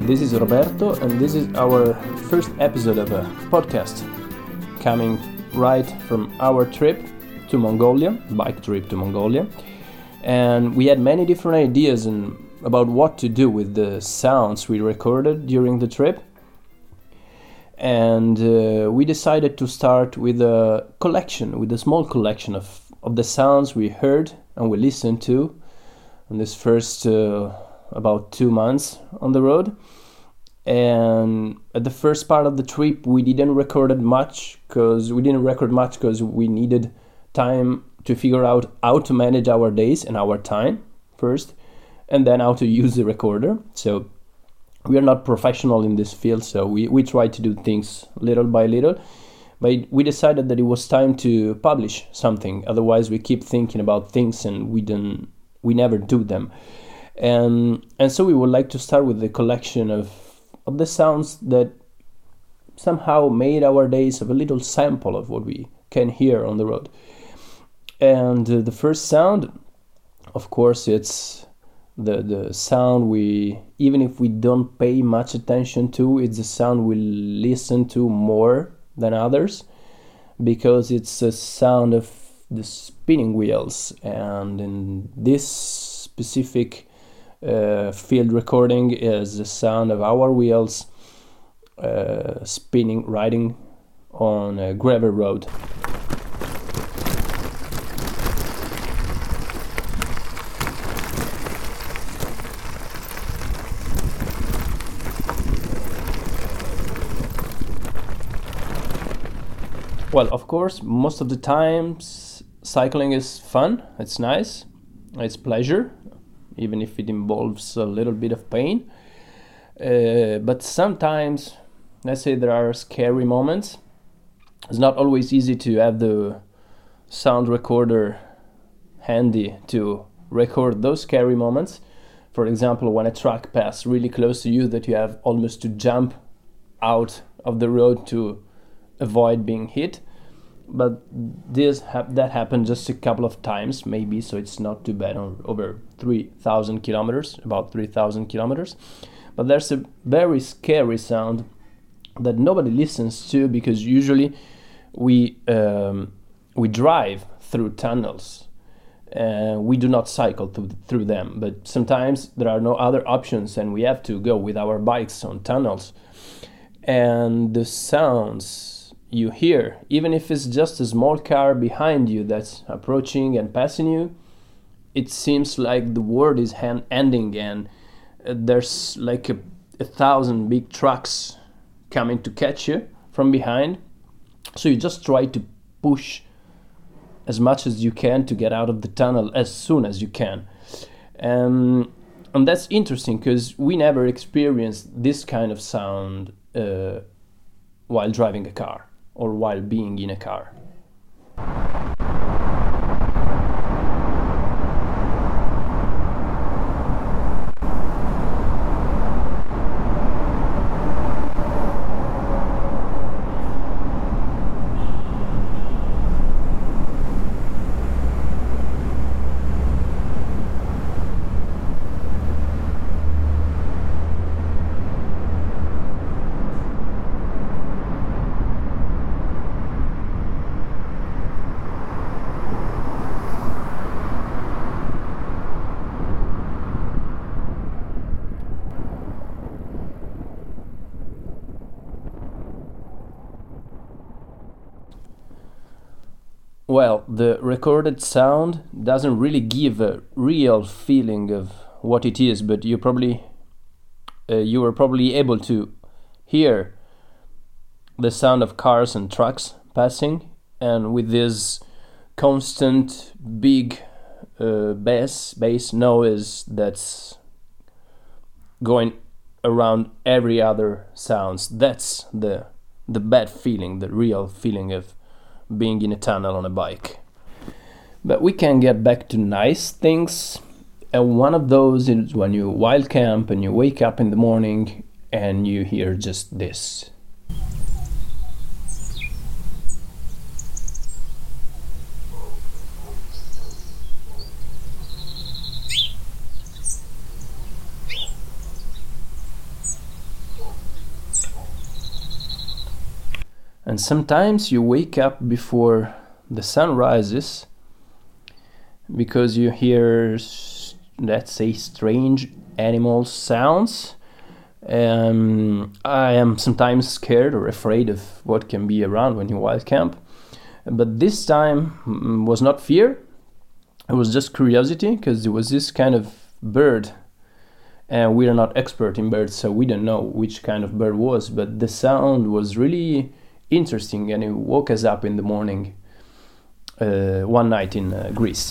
This is Roberto, and this is our first episode of a podcast coming right from our trip to Mongolia, bike trip to Mongolia. And we had many different ideas about what to do with the sounds we recorded during the trip. And we decided to start with a small collection of the sounds we heard and we listened to in this first about 2 months on the road. And at the first part of the trip we didn't record much because we needed time to figure out how to manage our days and our time first, and then how to use the recorder. So we are not professional in this field, so we try to do things little by little. But we decided that it was time to publish something. Otherwise we keep thinking about things and we never do them. And so we would like to start with the collection of the sounds that somehow made our days of a little sample of what we can hear on the road. And the first sound, of course, it's the sound even if we don't pay much attention to, it's the sound we listen to more than others, because it's a sound of the spinning wheels. And in this specific field recording is the sound of our wheels riding on a gravel road. Well, of course, most of the times cycling is fun, it's nice, it's pleasure, even if it involves a little bit of pain. But sometimes, let's say there are scary moments. It's not always easy to have the sound recorder handy to record those scary moments. For example, when a truck passes really close to you that you have almost to jump out of the road to avoid being hit. But that happened just a couple of times maybe, so it's not too bad on over 3,000 kilometers, about 3,000 kilometers. But there's a very scary sound that nobody listens to, because usually we drive through tunnels. We do not cycle through them, but sometimes there are no other options and we have to go with our bikes on tunnels. And the sounds you hear, even if it's just a small car behind you that's approaching and passing you, it seems like the world is ending, and there's like a 1,000 big trucks coming to catch you from behind. So you just try to push as much as you can to get out of the tunnel as soon as you can. And that's interesting because we never experienced this kind of sound while driving a car or while being in a car. Well, the recorded sound doesn't really give a real feeling of what it is, but you were probably able to hear the sound of cars and trucks passing, and with this constant big bass noise that's going around every other sounds. That's the bad feeling, the real feeling of being in a tunnel on a bike. But we can get back to nice things, and one of those is when you wild camp and you wake up in the morning and you hear just this. And sometimes you wake up before the sun rises because you hear, let's say, strange animal sounds. I am sometimes scared or afraid of what can be around when you wild camp. But this time was not fear, it was just curiosity, because there was this kind of bird, and we are not expert in birds, so we don't know which kind of bird was, but the sound was really interesting, and it woke us up in the morning one night in Greece.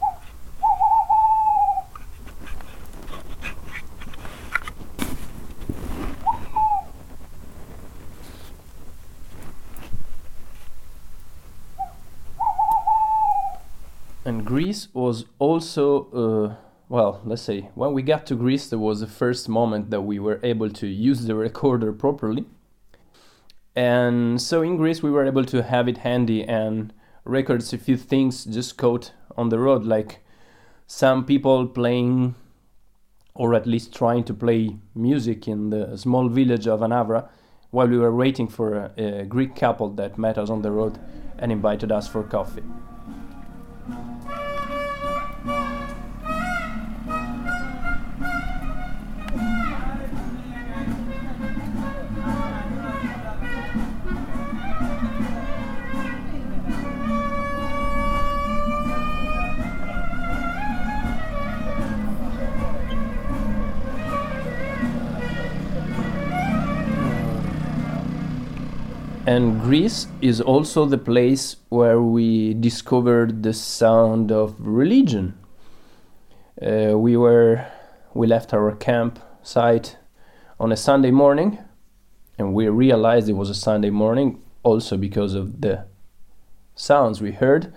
And Greece was also, well, let's say, when we got to Greece, there was the first moment that we were able to use the recorder properly. And so in Greece, we were able to have it handy and record a few things just caught on the road, like some people playing, or at least trying to play music in the small village of Anavra, while we were waiting for a Greek couple that met us on the road and invited us for coffee. And Greece is also the place where we discovered the sound of religion. We left our campsite on a Sunday morning, and we realized it was a Sunday morning also because of the sounds we heard.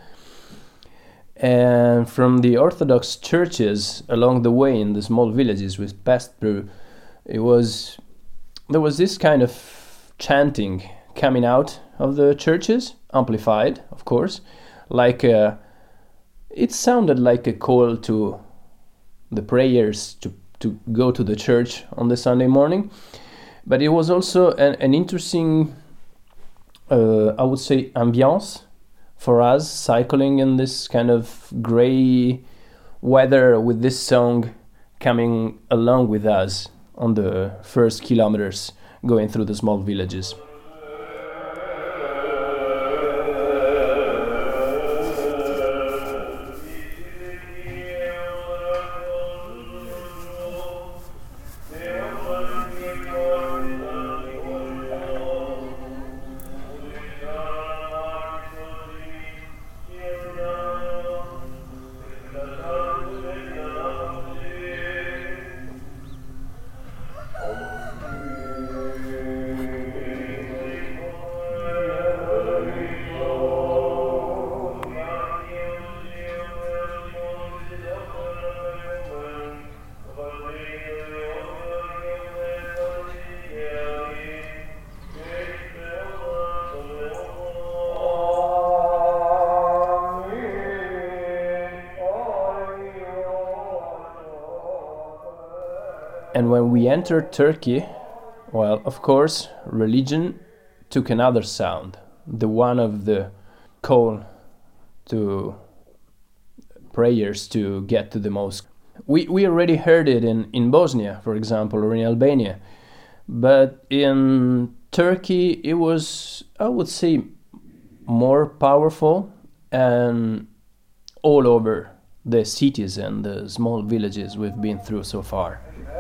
And from the Orthodox churches along the way in the small villages we passed through, there was this kind of chanting coming out of the churches, amplified, of course, like it sounded like a call to the prayers to go to the church on the Sunday morning, but it was also an interesting, I would say, ambiance for us cycling in this kind of gray weather with this song coming along with us on the first kilometers going through the small villages. And when we entered Turkey, well, of course, religion took another sound, the one of the call to prayers to get to the mosque. We already heard it in Bosnia, for example, or in Albania. But in Turkey, it was, I would say, more powerful and all over the cities and the small villages we've been through so far.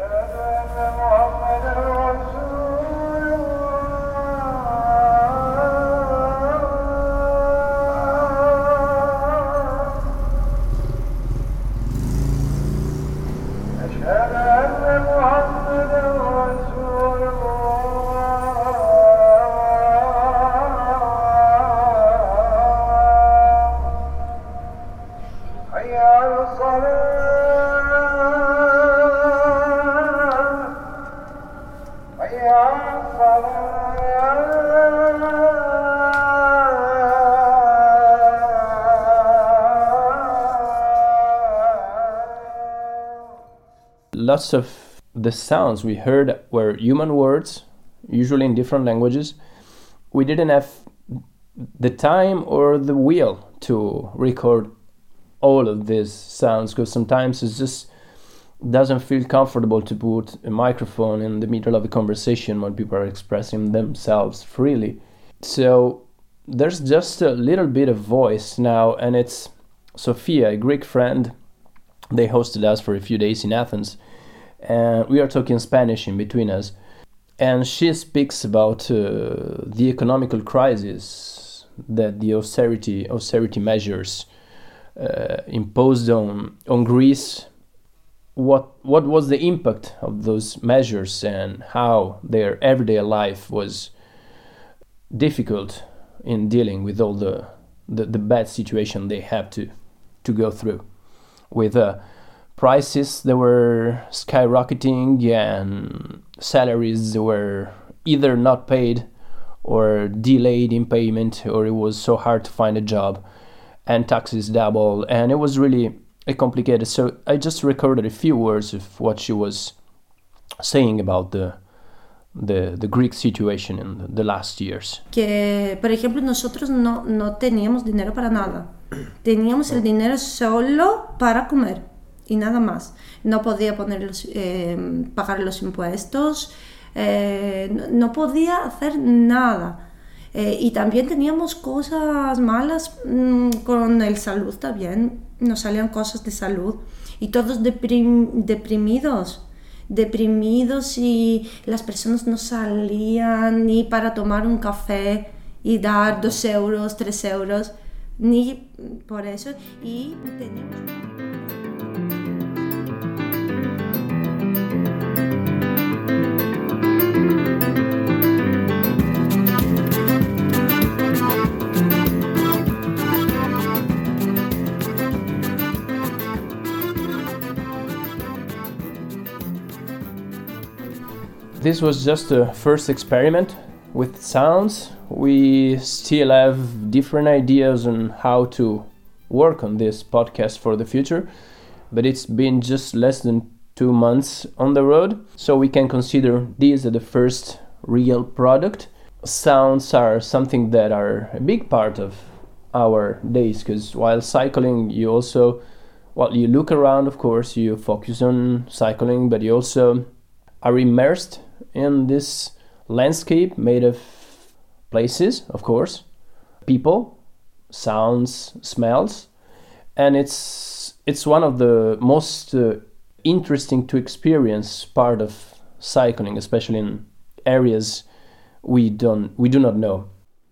Lots of the sounds we heard were human words, usually in different languages, we didn't have the time or the will to record all of these sounds, because sometimes it just doesn't feel comfortable to put a microphone in the middle of a conversation when people are expressing themselves freely. So there's just a little bit of voice now, and it's Sophia, a Greek friend. They hosted us for a few days in Athens, and we are talking Spanish in between us. And she speaks about the economical crisis that the austerity measures imposed on Greece. What was the impact of those measures, and how their everyday life was difficult in dealing with all the bad situation they have to go through, with prices that were skyrocketing and salaries that were either not paid or delayed in payment, or it was so hard to find a job, and taxes double, and it was really complicated. So I just recorded a few words of what she was saying about the Greek situation in the last years. Que, por ejemplo, nosotros no teníamos dinero para nada. Teníamos el dinero solo para comer y nada más. No podía pagar los impuestos, no podía hacer nada. Y también teníamos cosas malas con el salud también. Nos salían cosas de salud y todos deprimidos, y las personas no salían ni para tomar un café y dar 2 euros, 3 euros, ni por eso. Y teníamos... This was just a first experiment with sounds. We still have different ideas on how to work on this podcast for the future, but it's been just less than 2 months on the road, so we can consider this as the first real product. Sounds are something that are a big part of our days, because while cycling you also, you look around, of course, you focus on cycling, but you also are immersed in this landscape made of places, of course, people, sounds, smells, and it's one of the most interesting to experience part of cycling, especially in areas we do not know.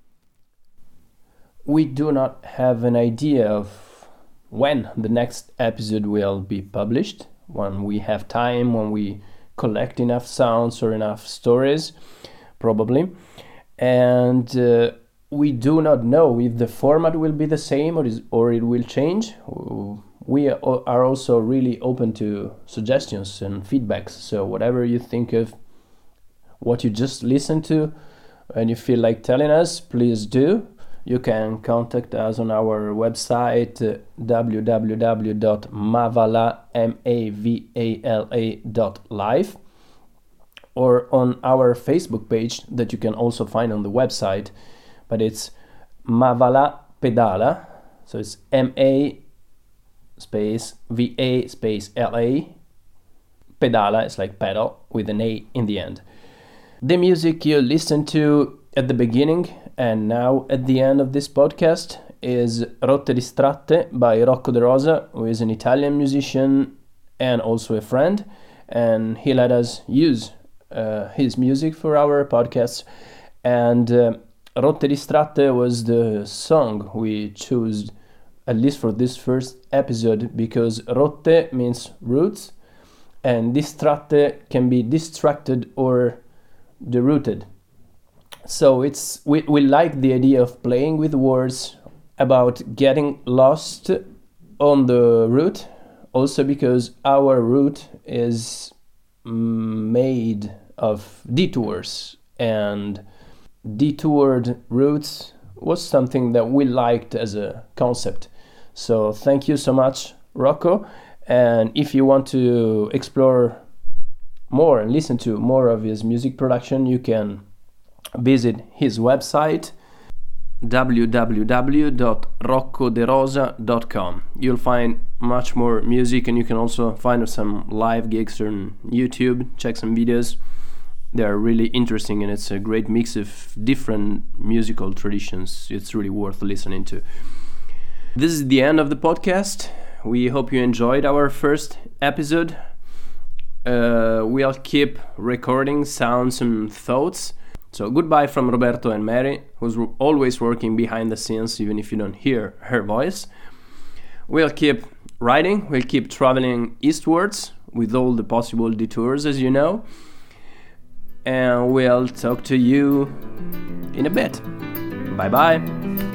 We do not have an idea of when the next episode will be published, when we have time, when we collect enough sounds or enough stories, probably. And we do not know if the format will be the same or it will change. We are also really open to suggestions and feedbacks. So whatever you think of what you just listened to and you feel like telling us, please do. You can contact us on our website www.mavala.live, or on our Facebook page that you can also find on the website, but it's Mavala Pedala, so it's MA space VA space LA. Pedala is like pedal with an A in the end. The music you listen to at the beginning and now at the end of this podcast is Rotte Distratte by Rocco De Rosa, who is an Italian musician and also a friend, and he let us use his music for our podcast. And Rotte Distratte was the song we chose, at least for this first episode, because rotte means roots and distratte can be distracted or derooted. So we like the idea of playing with words about getting lost on the route, also because our route is made of detours, and detoured routes was something that we liked as a concept. So thank you so much, Rocco. And if you want to explore more and listen to more of his music production, you can visit his website www.roccoderosa.com. You'll find much more music, and you can also find some live gigs on YouTube. Check some videos. They're really interesting, and it's a great mix of different musical traditions. It's really worth listening to. This is the end of the podcast. We hope you enjoyed our first episode. We'll keep recording sounds and thoughts. So goodbye from Roberto and Mary, who's always working behind the scenes, even if you don't hear her voice. We'll keep writing, we'll keep traveling eastwards with all the possible detours, as you know. And we'll talk to you in a bit. Bye bye.